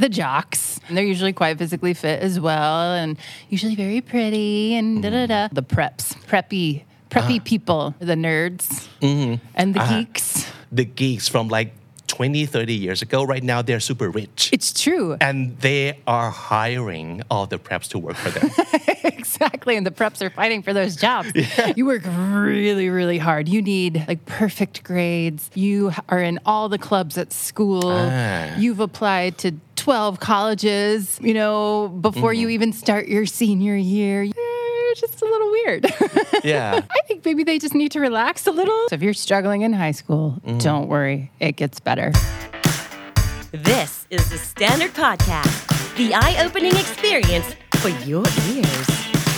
the jocks. And they're usually quite physically fit as well and usually very pretty and da-da-da. The preppy people, the nerds and the geeks. The geeks from like 20, 30 years ago, right now they're super rich. It's true. And they are hiring all the preps to work for them. Exactly. And the preps are fighting for those jobs. Yeah. You work really, really hard. You need like perfect grades. You are in all the clubs at school. You've applied to 12 colleges, before you even start your senior year. You're just a little weird. Yeah. I think maybe they just need to relax a little. So if you're struggling in high school, don't worry. It gets better. This is the Standard Podcast, the eye-opening experience for your ears.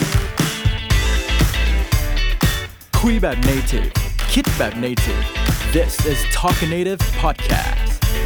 คุยแบบ native คิดแบบ native This is Talk Native Podcast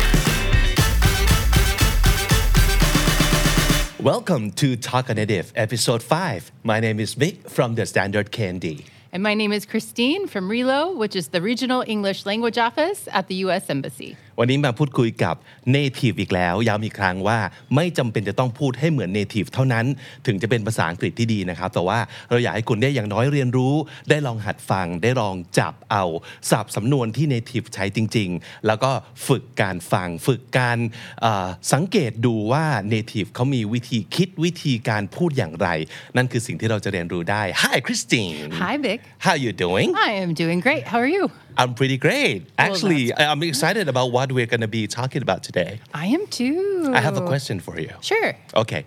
Welcome to Talk Native Episode 5. My name is Vic from the Standard Candy. And my name is Christine from RELO, which is the Regional English Language Office at the U.S. Embassy. วันนี้มาพูดคุยกับ Native อีกแล้วย้ำอีกครั้งว่าไม่จำเป็นจะต้องพูดให้เหมือน Native เท่านั้นถึงจะเป็นภาษาอังกฤษที่ดีนะครับแต่ว่าเราอยากให้คุณได้อย่างน้อยเรียนรู้ได้ลองหัดฟังได้ลองจับเอาศัพท์สำนวนที่ Native ใช้จริงๆแล้วก็ฝึกการฟังฝึกการสังเกตดูว่า Native เขามีวิธีคิดวิธีการพูดอย่างไรนั่นคือสิ่งที่เราจะเรียนรู้ได้ Hi Christine Hi Vic How you doing I am doing great How are you I'm pretty great. Actually, I'm excited about what we're going to be talking about today. I am too. I have a question for you. Sure. Okay.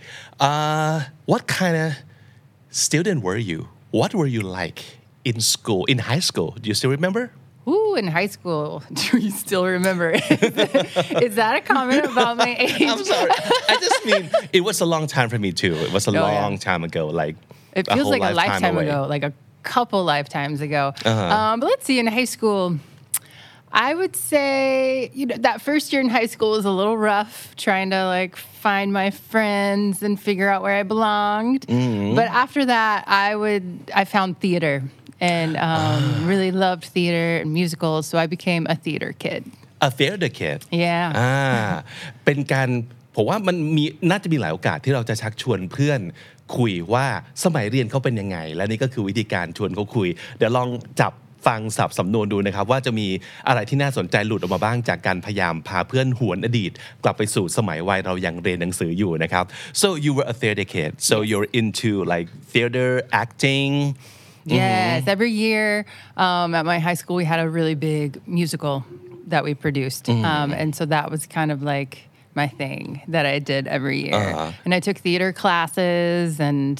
What kind of student were you? What were you like in school, in high school? Do you still remember? Ooh, in high school. Do you still remember? Is that a comment about my age? I'm sorry. I just mean, it was a long time for me too. It was a long time ago. Like it feels like a lifetime away. ago, like a couple lifetimes ago. But let's see, in high school, I would say, that first year in high school was a little rough, trying to like find my friends and figure out where I belonged. But after that, I found theater and really loved theater and musicals, so I became a theater kid. A theater kid? Yeah. เป็นการผมว่ามันน่าจะมีหลายโอกาสที่เราจะชักชวนเพื่อนคุยว่าสมัยเรียนเขาเป็นยังไงและนี่ก็คือวิธีการชวนเขาคุยเดี๋ยวลองจับฟังศัพท์สำนวนดูนะครับว่าจะมีอะไรที่น่าสนใจหลุดออกมาบ้างจากการพยายามพาเพื่อนหวนอดีตกลับไปสู่สมัยวัยเรายังเรียนหนังสืออยู่นะครับ So you were a theater kid so you're into like theater acting Yes every year at my high school we had a really big musical that we produced and so that was kind of like my thing that I did every year. And I took theater classes and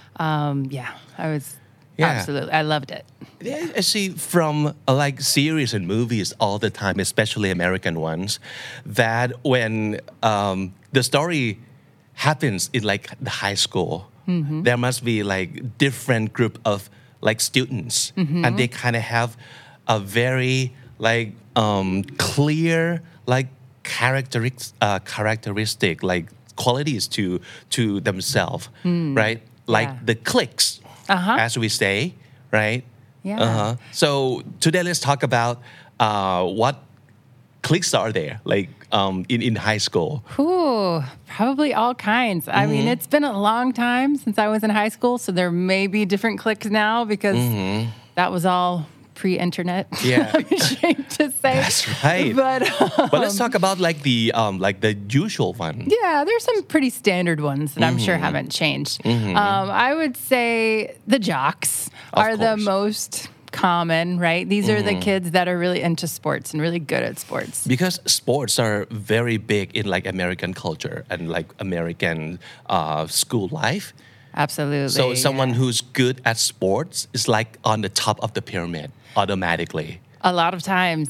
I was absolutely, I loved it. I see from like series and movies all the time, especially American ones, that when the story happens in like the high school, there must be like different group of like students and they kind of have a very like clear like characteristic like qualities to themselves right like the cliques as we say right so today let's talk about what cliques are there like in high school probably all kinds I mean it's been a long time since I was in high school so there may be different cliques now because that was all pre-internet. Yeah. I'm ashamed to say. That's right. But let's talk about like the usual one. Yeah, there's some pretty standard ones that I'm sure haven't changed. I would say the jocks are the most common, right? These are the kids that are really into sports and really good at sports. Because sports are very big in like American culture and like American school life. Absolutely. So someone who's good at sports is like on the top of the pyramid automatically. A lot of times,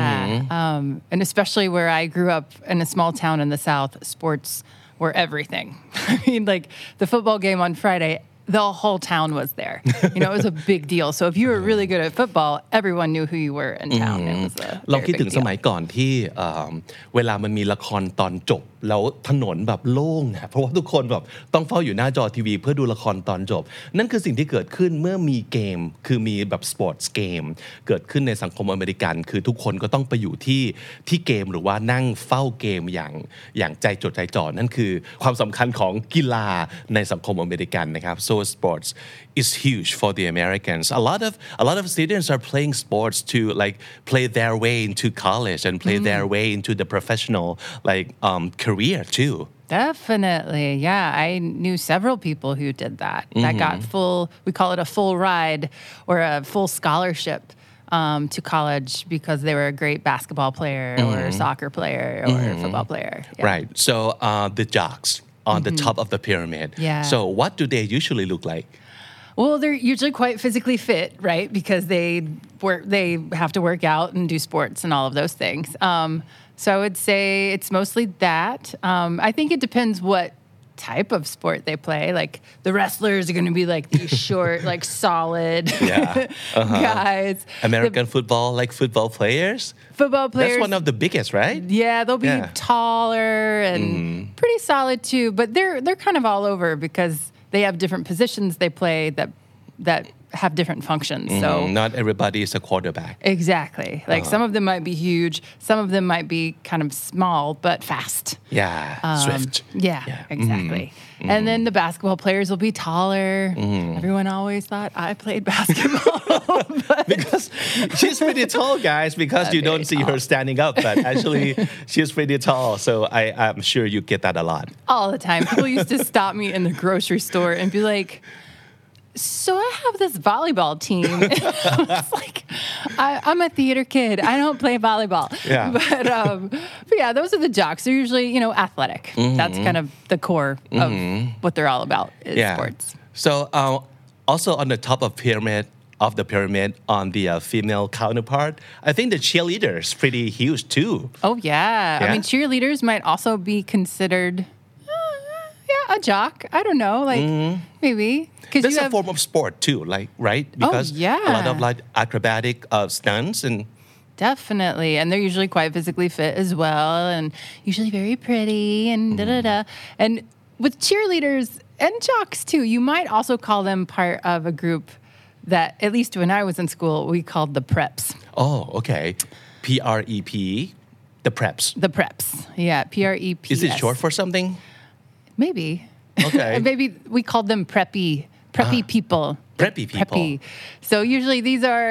and especially where I grew up in a small town in the South, sports were everything. I mean, like the football game on Friday, the whole town was there. It was a big deal. So if you were really good at football, everyone knew who you were in town. It was a ลอง very คิด big ถึงสมัย deal. ก่อนที่เวลามันมีละครตอนจบแล้วถนนแบบโล่งนะเพราะว่าทุกคนแบบต้องเฝ้าอยู่หน้าจอทีวีเพื่อดูละครตอนจบนั่นคือสิ่งที่เกิดขึ้นเมื่อมีเกมคือมีแบบสปอร์ตเกมเกิดขึ้นในสังคมอเมริกันคือทุกคนก็ต้องไปอยู่ที่เกมหรือว่านั่งเฝ้าเกมอย่างใจจดใจจ่อนั่นคือความสำคัญของกีฬาในสังคมอเมริกันนะครับ so sports is huge for the Americans a lot of students are playing sports to like play their way into college and play their way into the professional like career too Definitely. Yeah. I knew several people who did that. That got we call it a full ride or a full scholarship to college because they were a great basketball player or soccer player or football player. Yeah. Right. So the jocks on the top of the pyramid. Yeah. So what do they usually look like? Well, they're usually quite physically fit, right? Because they have to work out and do sports and all of those things. So I would say it's mostly that. I think it depends what type of sport they play. Like the wrestlers are going to be like these short, like solid guys. American football, like football players? Football players. That's one of the biggest, right? Yeah, they'll be taller and pretty solid too. But they're kind of all over because they have different positions they play that have different functions. So not everybody is a quarterback. Exactly. Like some of them might be huge, some of them might be kind of small but fast. Yeah, swift. Yeah, exactly. And then the basketball players will be taller. Everyone always thought I played basketball. Because she's pretty tall, guys, because you don't see her standing up, but actually she's pretty tall. So I'm sure you get that a lot. All the time. People used to stop me in the grocery store and be like, so I have this volleyball team. I was like, I'm a theater kid. I don't play volleyball. Yeah. But yeah, those are the jocks. They're usually, athletic. That's kind of the core of what they're all about is sports. So also on the top of the pyramid on the female counterpart, I think the cheerleaders pretty huge too. Oh, yeah. I mean, cheerleaders might also be considered a jock. I don't know. Like, maybe. That's a form of sport too, like, right? Because a lot of like acrobatic stunts and Definitely. And they're usually quite physically fit as well and usually very pretty and da-da-da. And with cheerleaders and jocks too, you might also call them part of a group that, at least when I was in school, we called the preps. Oh, okay. P-R-E-P, the preps. The preps. Yeah, P-R-E-P-S. Is it short for something? Maybe. Okay. Maybe we called them preppy people. Preppy people. Preppy. So usually these are,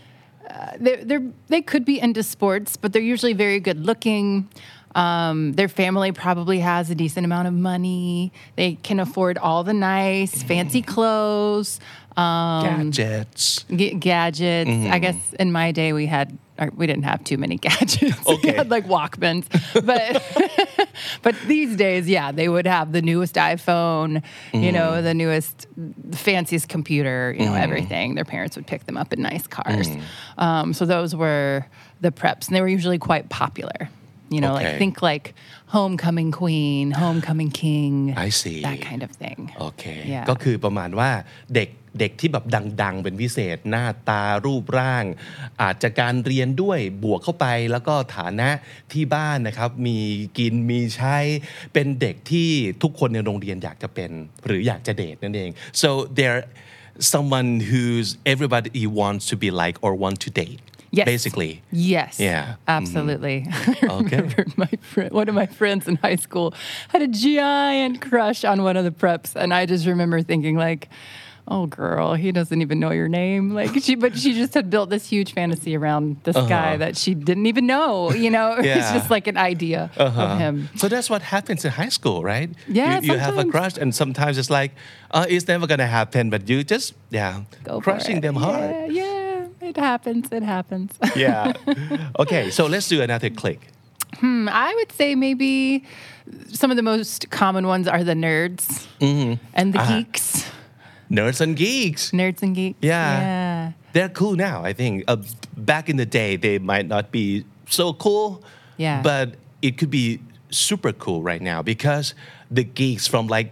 they could be into sports, but they're usually very good looking. Their family probably has a decent amount of money. They can afford all the nice, fancy clothes. Gadgets. Gadgets. I guess in my day we didn't have too many gadgets. Okay. We had like Walkmans. But these days, yeah, they would have the newest iPhone, the newest, fanciest computer, everything. Their parents would pick them up in nice cars. So those were the preps, and they were usually quite popular. Like think like homecoming queen, homecoming king. I see. That kind of thing. Okay. Yeah. ก็คือประมาณว่าเด็กที่แบบดังๆเป็นพิเศษหน้าตารูปร่างอาจจะการเรียนด้วยบวกเข้าไปแล้วก็ฐานะที่บ้านนะครับมีกินมีใช้เป็นเด็กที่ทุกคนในโรงเรียนอยากจะเป็นหรืออยากจะเดทนั่นเอง so they're someone who's everybody wants to be like or want to date Yes. basically Yes. Yeah. Absolutely. Okay. I remember one of my friends in high school had a giant crush on one of the preps, and I just remember thinking like, oh girl, he doesn't even know your name. Like but she just had built this huge fantasy around this guy that she didn't even know, It's just like an idea of him. So that's what happens in high school, right? Yeah, you have a sometimes. crush and sometimes it's like it's never gonna happen, but you just Go for crushing it. them hard. Yeah. It happens. Yeah. Okay, so let's do another click. I would say maybe some of the most common ones are the nerds and the geeks. Nerds and geeks. Nerds and geeks. Yeah. They're cool now, I think. Back in the day, they might not be so cool. Yeah. But it could be super cool right now because the geeks from like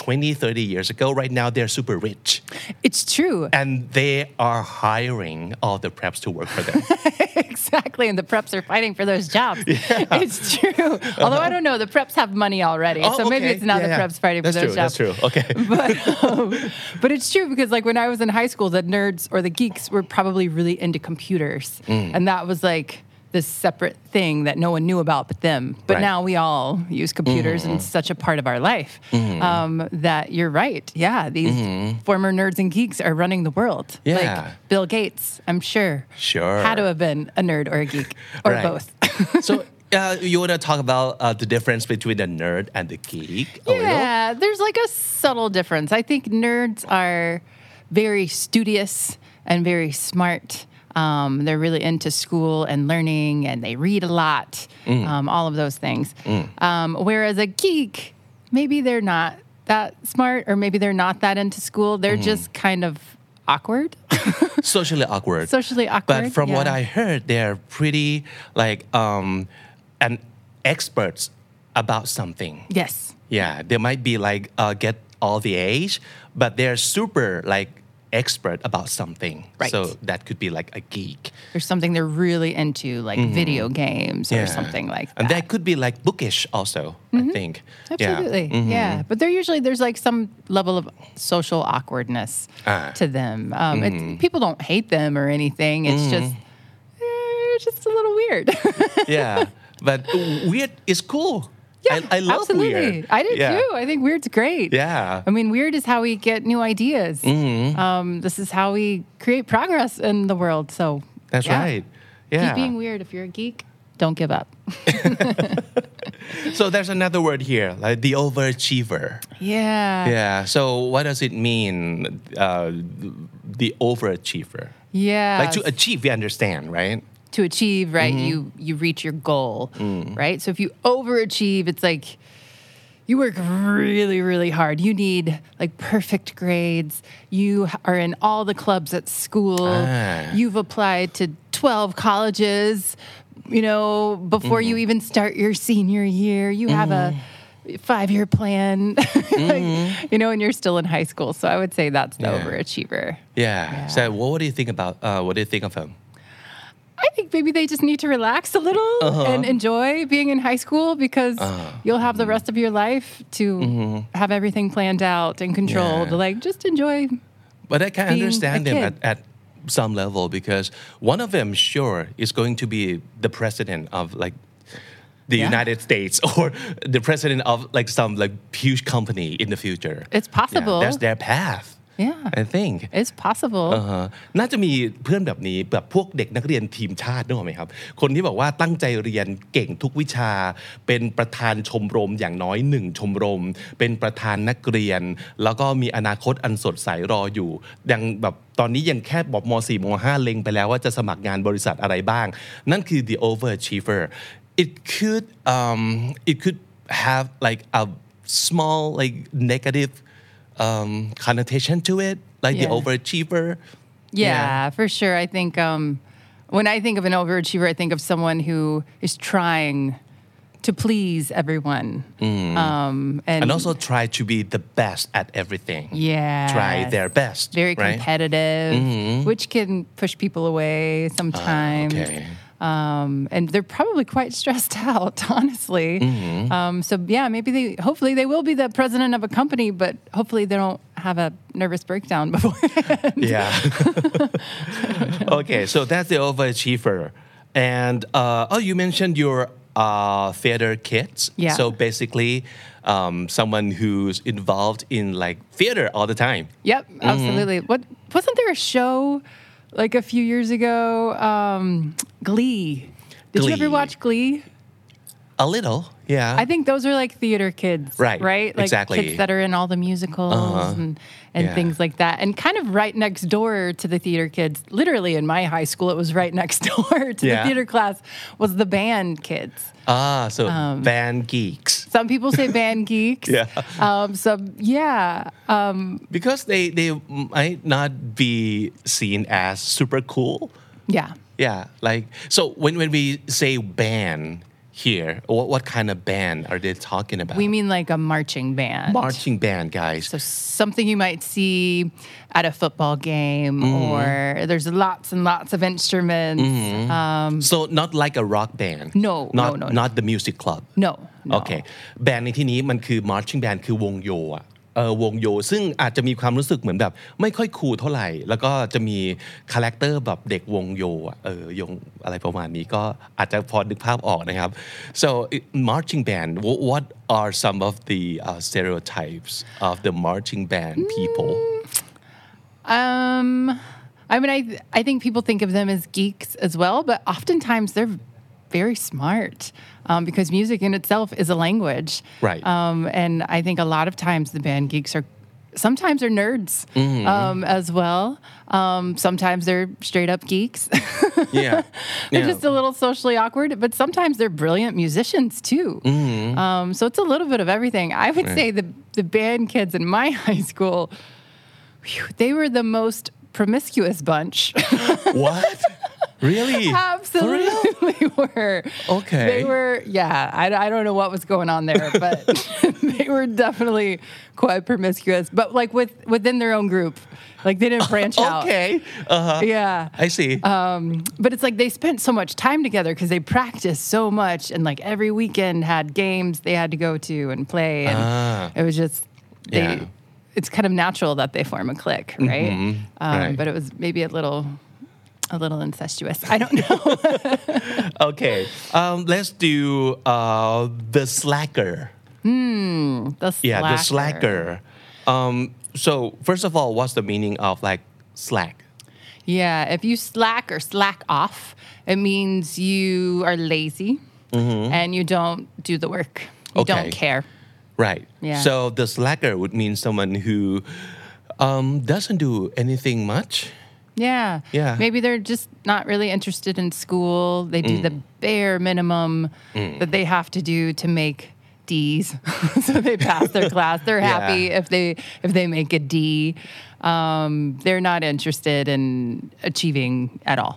20-30 years ago. Right now, they're super rich. It's true. And they are hiring all the preps to work for them. Exactly. And the preps are fighting for those jobs. It's true. Although I don't know, the preps have money already. So maybe it's not the preps fighting for those jobs. That's true. Okay. But it's true because like when I was in high school, the nerds or the geeks were probably really into computers. And that was like this separate thing that no one knew about but them. But now we all use computers and it's such a part of our life that you're right. Yeah, these former nerds and geeks are running the world. Yeah. Like Bill Gates, I'm sure. Sure. Had to have been a nerd or a geek or both. So you want to talk about the difference between the nerd and the geek a little? Yeah, there's like a subtle difference. I think nerds are very studious and very smart. They're really into school and learning, and they read a lot, all of those things. Whereas a geek, maybe they're not that smart, or maybe they're not that into school. They're just kind of awkward. Socially awkward. Socially awkward. But from what I heard, they're pretty like an experts about something. Yes. Yeah, they might be like get all the age, but they're super like expert about something. Right. So that could be like a geek. There's something they're really into, like video games or something like that. And that could be like bookish also, I think. Absolutely. Yeah. But there's like some level of social awkwardness to them. People don't hate them or anything. It's just a little weird. Yeah. But weird is cool. Yeah, I love absolutely. weird. I do too. I think weird's great. Yeah. I mean, weird is how we get new ideas. This is how we create progress in the world. So that's right. Yeah. Keep being weird. If you're a geek, don't give up. So there's another word here, like the overachiever. Yeah. Yeah. So what does it mean, the overachiever? Yeah. Like to achieve, we understand, right? To achieve, right? You reach your goal, right? So if you overachieve, it's like you work really, really hard. You need like perfect grades. You are in all the clubs at school. You've applied to 12 colleges, before you even start your senior year. You have a 5-year plan, and you're still in high school. So I would say that's the overachiever. Yeah. So what do you think about, what do you think of him? I think maybe they just need to relax a little and enjoy being in high school because you'll have the rest of your life to have everything planned out and controlled. Like, just enjoy. But I can understand them at some level because one of them, sure, is going to be the president of like the United States or the president of like some like huge company in the future. It's possible. That's their path. Yeah. I think It's possible. น่าจะมีเพื่อนแบบนี้แบบพวกเด็กนักเรียนทีมชาตินึกออกไหมครับคนที่บอกว่าตั้งใจเรียนเก่งทุกวิชาเป็นประธานชมรมอย่างน้อย1ชมรมเป็นประธานนักเรียนแล้วก็มีอนาคตอันสดใสรออยู่ยังแบบตอนนี้ยังแค่บอกม.4 ม.5 เล็งไปแล้วว่าจะสมัครงานบริษัทอะไรบ้างนั่นคือ the overachiever it could have like a small like negative connotation to it, like the overachiever. Yeah, for sure. I think when I think of an overachiever, I think of someone who is trying to please everyone. And also try to be the best at everything. Yeah. Try their best. Very competitive, which can push people away sometimes. Okay. And they're probably quite stressed out, honestly. So hopefully they will be the president of a company, but hopefully they don't have a nervous breakdown beforehand. Yeah. Okay, so that's the overachiever. And you mentioned your theater kids. Yeah. So basically, someone who's involved in like theater all the time. Yep, absolutely. Wasn't there a show like a few years ago, Glee. Did you ever watch Glee? A little, yeah. I think those are like theater kids, right? Like exactly. kids that are in all the musicals and things like that. And kind of right next door to the theater kids, literally in my high school, it was right next door to the theater class, was the band kids. So band geeks. Some people say band geeks. Because they might not be seen as super cool. Yeah. Yeah, like so when we say band here what kind of band are they talking about We mean like a marching band. marching band guys So something you might see at a football game, or there's lots and lots of instruments. so not like a rock band No, not no. not the music club No. โอเคแบนด์ในที่นี้มันคือ marching band คือวงโยอะวงโยซึ่งอาจจะมีความรู้สึกเหมือนแบบไม่ค่อยคูลเท่าไหร่แล้วก็จะมีคาแรคเตอร์แบบเด็กวงโยอะโยงอะไรประมาณนี้ก็อาจจะพอนึกภาพออกนะครับ so marching band what are some of the stereotypes of the marching band people I mean, I think people think of them as geeks as well, but oftentimes they're very smart because music in itself is a language. Right. And I think a lot of times the band geeks sometimes are nerds as well. Sometimes they're straight up geeks. yeah They're just a little socially awkward, but sometimes they're brilliant musicians too. So it's a little bit of everything. I would say the band kids in my high school, they were the most promiscuous bunch. what really Absolutely were. Okay. They were, I don't know what was going on there, but they were definitely quite promiscuous, but like within their own group. Like they didn't branch out. okay Yeah. I see But it's like they spent so much time together because they practiced so much, and like every weekend had games they had to go to and play. And it was just, it's kind of natural that they form a clique, right? Right. But it was maybe a little incestuous. I don't know. okay let's do the slacker The slacker. yeah the slacker so first of all what's the meaning of like slack Yeah, if you slack or slack off, it means you are lazy and you don't do the work. You Okay. don't care. right Yeah. so the slacker would mean someone who doesn't do anything much Yeah. Maybe they're just not really interested in school. They do the bare minimum that they have to do to make D's. So they pass their class. They're happy if they make a D. They're not interested in achieving at all.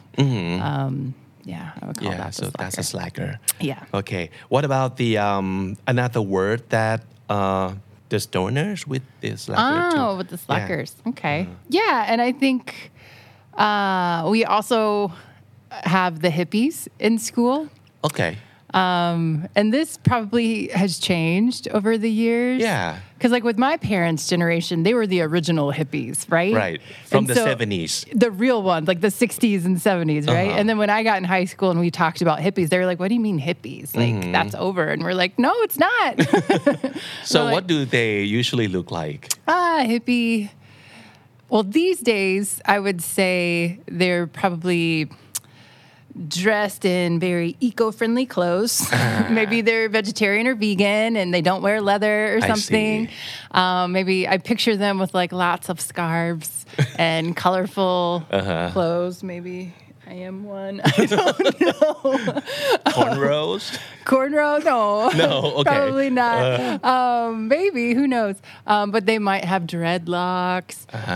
I would call that so the that's a slacker Yeah. okay what about the another word that the stoners with the slacker too? With the slackers. Okay. Yeah, and I think we also have the hippies in school. okay And this probably has changed over the years. Yeah. Because like with my parents' generation, they were the original hippies, right? Right. From And the so 70s. The real ones, like the 60s and 70s, right? And then when I got in high school and we talked about hippies, they were like, what do you mean hippies? Like, that's over. And we're like, no, it's not. So We're what do they usually look like? Hippie. Well, these days, I would say they're probably dressed in very eco-friendly clothes. Maybe they're vegetarian or vegan and they don't wear leather or I something. Maybe I picture them with like lots of scarves and colorful clothes. Maybe I am one. I don't know. Cornrows? Cornrow? No. No, okay. Probably not. Maybe, who knows? But they might have dreadlocks.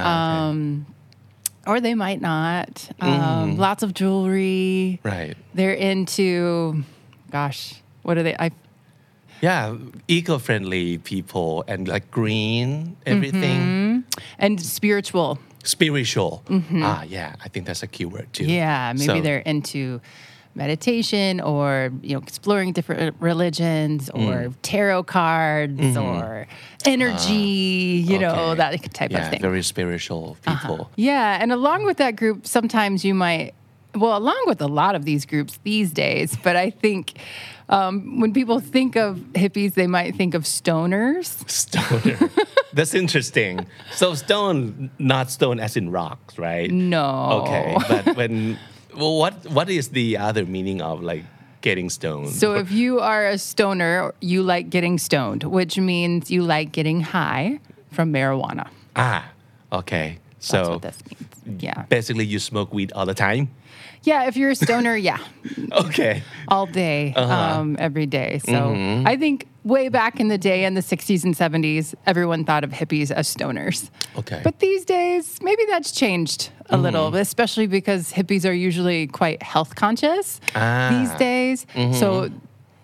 Or they might not. Lots of jewelry. Right. They're into, gosh, what are they? Yeah, eco-friendly people and like green, everything. And spiritual. Spiritual. Yeah, I think that's a keyword too. Yeah, maybe So- they're into meditation or exploring different religions or tarot cards or energy, Okay. that type of thing. Very spiritual people. Yeah, and along with that group, sometimes you might, along with a lot of these groups these days, but I think when people think of hippies, they might think of stoners. Stoner. That's interesting. So stone, not stone as in rocks, right? No. Okay, but what is the other meaning of like getting stoned? So if you are a stoner, you like getting stoned, which means you like getting high from marijuana. Okay. That's So what this means. Yeah. basically you smoke weed all the time? Yeah, if you're a stoner, yeah. Okay. All day, every day. So I think way back in the day in the 60s and 70s, everyone thought of hippies as stoners. Okay. But these days, maybe that's changed a little, especially because hippies are usually quite health conscious these days. So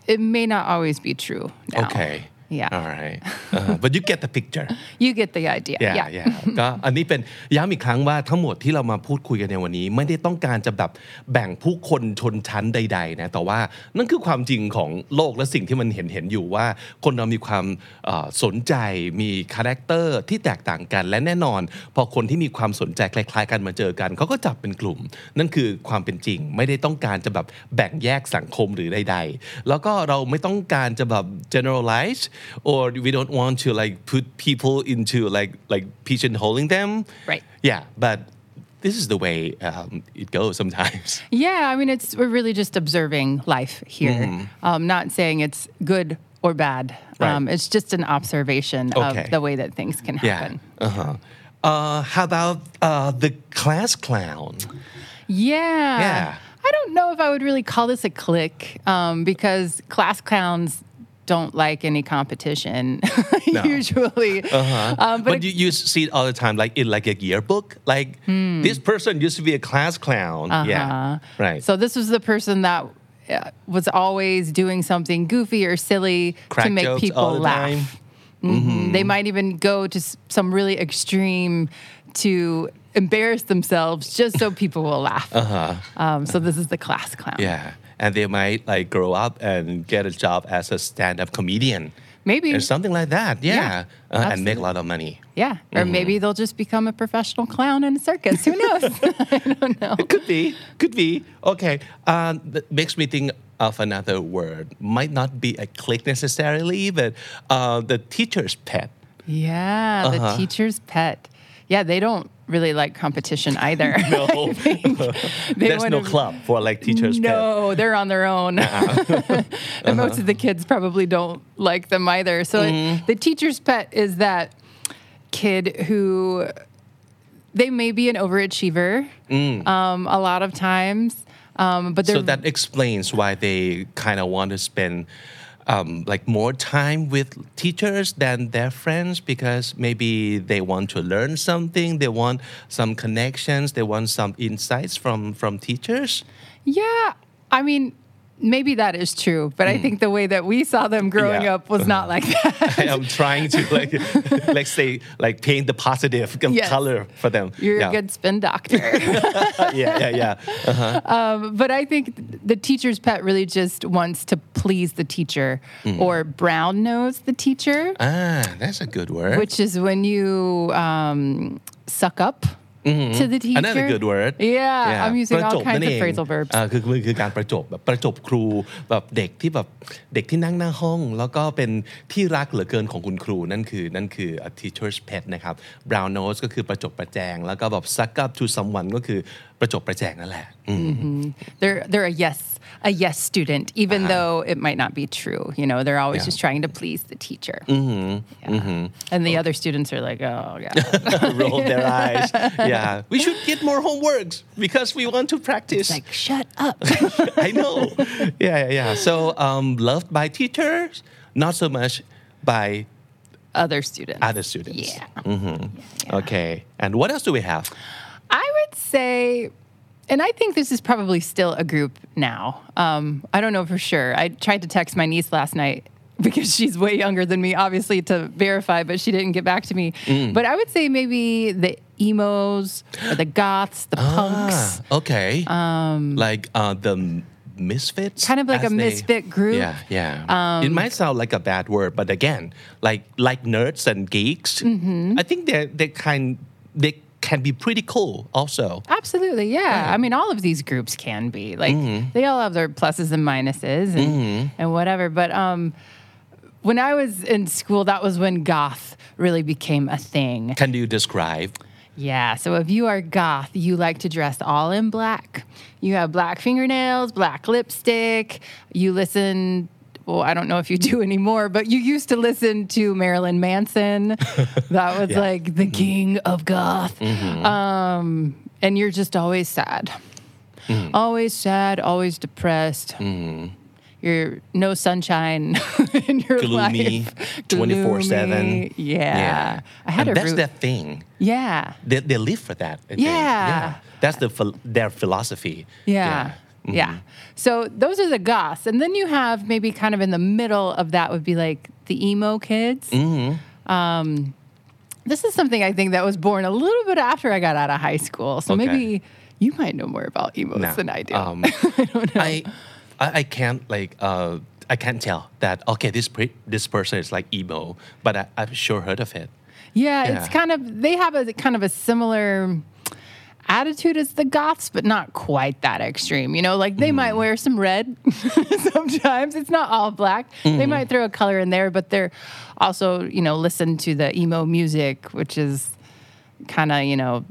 it may not always be true now. Okay. Yeah. All right. But you get the picture. You get the idea. yeah ก็อันนี้เป็นย้ำอีกครั้งว่าทั้งหมดที่เรามาพูดคุยกันในวันนี้ไม่ได้ต้องการจะแบบแบ่งผู้คนชนชั้นใดๆนะแต่ว่านั่นคือความจริงของโลกและสิ่งที่มันเห็นอยู่ว่าคนเรามีความสนใจมีคาแรคเตอร์ที่แตกต่างกันและแน่นอนพอคนที่มีความสนใจคล้ายๆกันมาเจอกันเขาก็จับเป็นกลุ่มนั่นคือความเป็นจริงไม่ได้ต้องการจะแบบแบ่งแยกสังคมหรือใดๆแล้วก็เราไม่ต้องการจะแบบ generalize or we don't want to like put people into like pigeonholing them. Right. Yeah, but this is the way it goes sometimes. Yeah, I mean, we're really just observing life here. Not saying it's good or bad. Right. It's just an observation of the way that things can happen. Yeah. How about the class clown? Yeah. I don't know if I would really call this a clique because class clowns don't like any competition usually. But you see it all the time, like in like a yearbook, like this person used to be a class clown. Yeah, right. So this was the person that was always doing something goofy or silly Crack to make jokes people all the laugh. They might even go to some really extreme to embarrass themselves just so people will laugh. So this is the class clown. Yeah.And they might like grow up and get a job as a stand-up comedian. Maybe. Or something like that. And make a lot of money. Yeah. Or maybe they'll just become a professional clown in a circus. Who knows? I don't know. It could be. Okay. That makes me think of another word. Might not be a clique necessarily, but the teacher's pet. Yeah, the teacher's pet. Yeah, they don't really like competition either. No. There's no club for like teachers' pet. No, they're on their own. And most of the kids probably don't like them either. So the teacher's pet is that kid who they may be an overachiever a lot of times. But so that explains why they kind of want to spend like more time with teachers than their friends because maybe they want to learn something, they want some connections, they want some insights from teachers. Yeah, I mean, maybe that is true, but I think the way that we saw them growing up was not like that. I'm trying to like say like paint the positive color for them. You're a good spin doctor. Yeah. But I think the teacher's pet really just wants to please the teacher or brown nose the teacher. That's a good word. Which is when you suck up.to the teacher. Another good word. Yeah, I'm using all kinds of phrasal verbs. คือการประจบแบบประจบครูแบบเด็กที่นั่งหน้าห้องแล้วก็เป็นที่รักเหลือเกินของคุณครูนั่นคือ a teacher's pet นะครับ brown nose ก็คือประจบประแจงแล้วก็แบบ suck up to someone ก็คือประจบประแจงนั่นแหละ They're a yes student even though it might not be true. You know, they're always just trying to please the teacher. And the other students are like, oh god. Roll their eyes. Yeah, we should get more homeworks because we want to practice. It's like, shut up. I know. Yeah. So loved by teachers, not so much by other students. Yeah. Okay. And what else do we have? I would say, and I think this is probably still a group now. I don't know for sure. I tried to text my niece last night because she's way younger than me, obviously, to verify, but she didn't get back to me. But I would say maybe the emos or the goths, the punks. Okay. Like the misfits? Kind of like a misfit group. Yeah. It might sound like a bad word, but again, like nerds and geeks, I think they can be pretty cool also. Absolutely, yeah. I mean, all of these groups can be. Like, they all have their pluses and minuses and whatever. But when I was in school, that was when goth really became a thing. Can you describe? Yeah, so if you are goth, you like to dress all in black. You have black fingernails, black lipstick. You listen... Well, I don't know if you do anymore, but you used to listen to Marilyn Manson. That was like the king of goth. And you're just always sad. Always sad, always depressed. You're no sunshine in your life. 24/7. Yeah. That's their thing. Yeah. They live for that. Yeah. That's their philosophy. Yeah. Yeah. So those are the goths. And then you have maybe kind of in the middle of that would be like the emo kids. This is something I think that was born a little bit after I got out of high school. So maybe you might know more about emos than I do. I don't know. I can't I can't tell that this person is like emo, but I've sure heard of it. Yeah, it's kind of they have a kind of a similar attitude as the goths, but not quite that extreme. You know, like they might wear some red sometimes. It's not all black. They might throw a color in there, but they're also, you know, listen to the emo music, which is kind of, you know,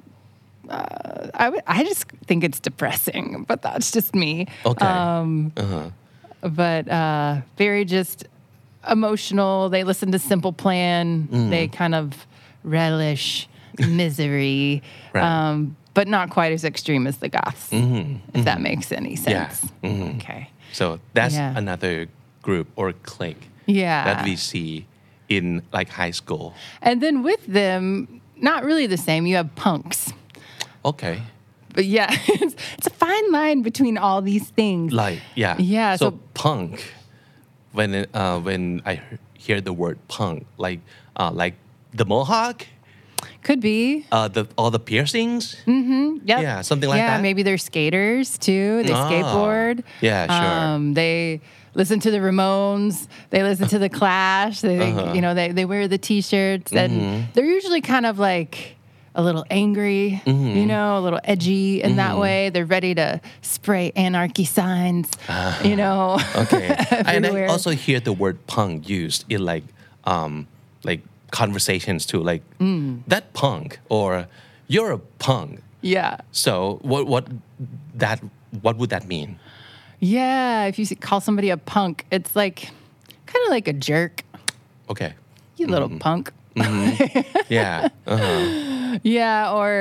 I just think it's depressing, but that's just me. Okay. But very just emotional. They listen to Simple Plan. They kind of relish misery. Right. But not quite as extreme as the goths, if that makes any sense. Okay. So that's another group or clique that we see in like high school. And then with them, not really the same. You have punks. Okay. But yeah, it's a fine line between all these things. Like, yeah. Yeah. So punk, when I hear the word punk, like the mohawk, could be. All the piercings. Yep. Yeah, something like that. Yeah, maybe they're skaters too. They skateboard. Yeah, sure. They listen to the Ramones. They listen to the Clash. They, you know, they wear the T-shirts, and they're usually kind of like a little angry, you know, a little edgy in that way. They're ready to spray anarchy signs, you know. Okay. And I also hear the word punk used in like conversations too, like that punk or you're a punk. Yeah. So what would that mean? Yeah, if you call somebody a punk, it's like kind of like a jerk. Okay. You little punk. Yeah. Yeah, or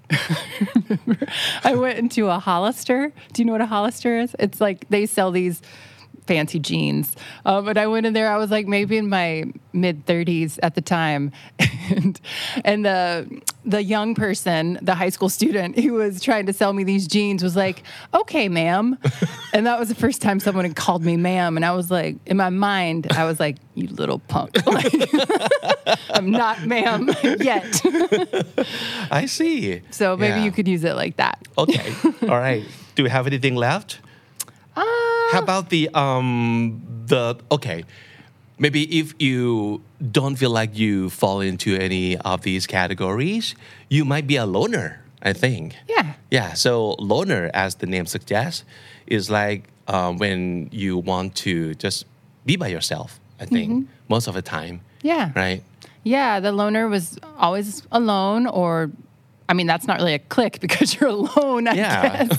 I went into a Hollister. Do you know what a Hollister is? It's like they sell these fancy jeans. But I went in there, I was like maybe in my mid-30s at the time. And the young person, the high school student who was trying to sell me these jeans was like, okay, ma'am. And that was the first time someone had called me ma'am. And I was like, in my mind, I was like, you little punk. Like, I'm not ma'am yet. I see. So maybe you could use it like that. Okay. All right. Do we have anything left? How about the okay, maybe if you don't feel like you fall into any of these categories, you might be a loner, I think. Yeah, so loner, as the name suggests, is like when you want to just be by yourself, I think, most of the time. Yeah. Right? Yeah, the loner was always alone, or I mean, that's not really a clique because you're alone, I guess.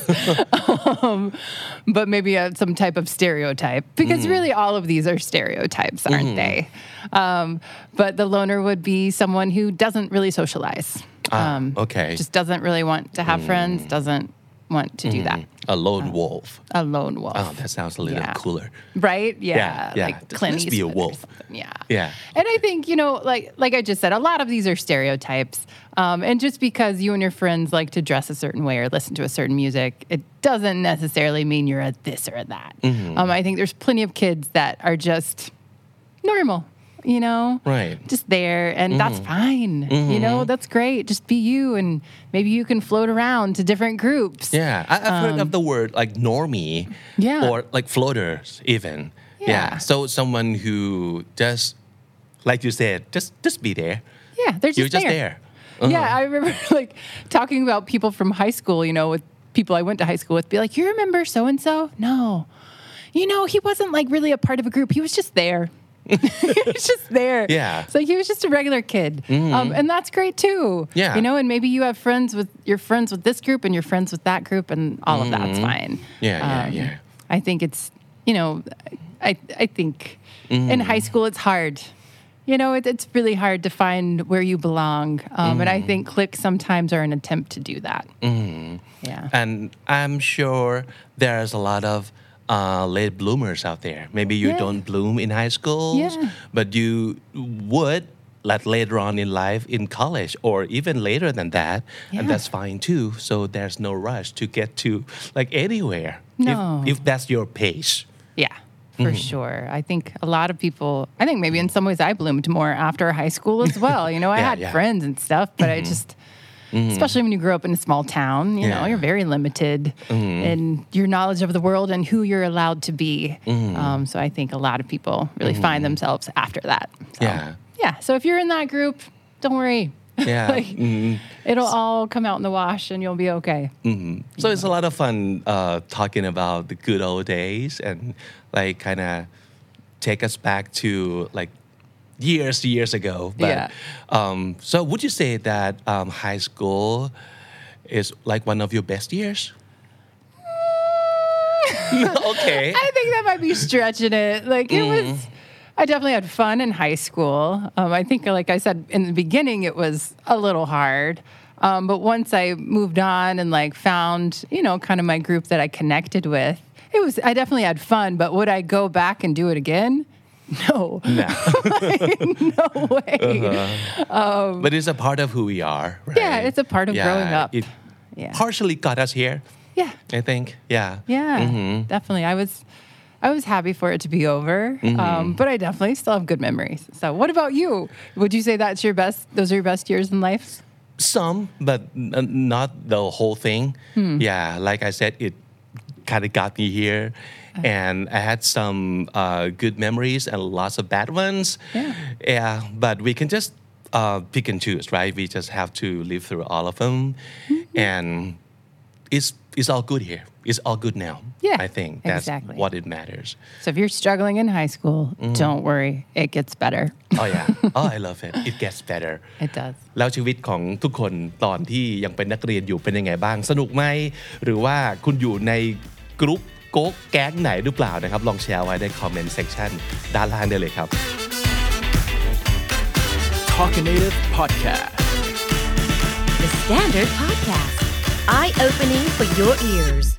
But maybe some type of stereotype, because really all of these are stereotypes, aren't they? But the loner would be someone who doesn't really socialize. Okay. Just doesn't really want to have friends, doesn't want to do that. A lone wolf. A lone wolf. Oh, that sounds a little cooler. Right? Yeah. Yeah. Like Clint Let's be a Eastwood wolf. or something. Yeah. Yeah. And I think, you know, like I just said, a lot of these are stereotypes. And just because you and your friends like to dress a certain way or listen to a certain music, it doesn't necessarily mean you're a this or a that. I think there's plenty of kids that are just normal. You know, right? Just there, and that's fine. You know, that's great. Just be you, and maybe you can float around to different groups. Yeah, I've heard of the word like normie, or like floaters, even. Yeah. So someone who just, like you said, just be there. Yeah, they're just You're just there. Yeah, I remember like talking about people from high school. You know, with people I went to high school with, be like, "You remember so and so? No, you know, he wasn't like really a part of a group. He was just there." He was just there. Yeah. So he was just a regular kid. And that's great too. Yeah. You know, and maybe you have you're friends with this group and you're friends with that group, and all of that's fine. Yeah. I think it's, you know, I think in high school it's hard. You know, it's really hard to find where you belong. And I think cliques sometimes are an attempt to do that. Yeah. And I'm sure there's a lot of late bloomers out there. Maybe you don't bloom in high school, but you would later on in life in college or even later than that and Yeah. that's fine too so there's no rush to get to like anywhere No. if that's your pace Yeah, for sure. I think a lot of people, I think maybe in some ways I bloomed more after high school as well. You know, I Yeah, had yeah. friends and stuff, but I just, especially when you grow up in a small town, you know, Yeah. you're very limited in your knowledge of the world and who you're allowed to be. So I think a lot of people really find themselves after that. So, Yeah. Yeah. So if you're in that group, don't worry. Yeah. Like, it'll all come out in the wash and you'll be okay. So it's a lot of fun talking about the good old days and like kind of take us back to like years ago. But, Yeah. So would you say that high school is like one of your best years? Okay. I think that might be stretching it. Like it was, I definitely had fun in high school. I think, like I said in the beginning, it was a little hard. But once I moved on and like found, you know, kind of my group that I connected with, I definitely had fun. But would I go back and do it again? No. No. No way. But it's a part of who we are, right? Yeah, it's a part of growing up. It Yeah. partially got us here, Yeah. I think. Yeah. Yeah, definitely. I was happy for it to be over, but I definitely still have good memories. So, what about you? Would you say that's your best? Those are your best years in life? Some, but not the whole thing. Yeah, like I said, it kind of got me here. And I had some good memories and lots of bad ones. Yeah, but we can just pick and choose, right? We just have to live through all of them. And it's all good here. It's all good now. Yeah, I think that's exactly. what it matters. So, if you're struggling in high school, don't worry, it gets better. Oh yeah. Oh, I love it. It gets better. It does. แล้วชีวิตของทุกคนตอนที่ยังเป็นนักเรียนอยู่เป็นยังไงบ้างสนุกไหมหรือว่าคุณอยู่ในกรุ๊ปโก๊กแก๊งไหนหรือเปล่านะครับลองแชร์ไว้ในคอมเมนต์เซกชันด้านล่างได้เลยครับ Talkinative Podcast. The Standard Podcast, eye-opening for your ears.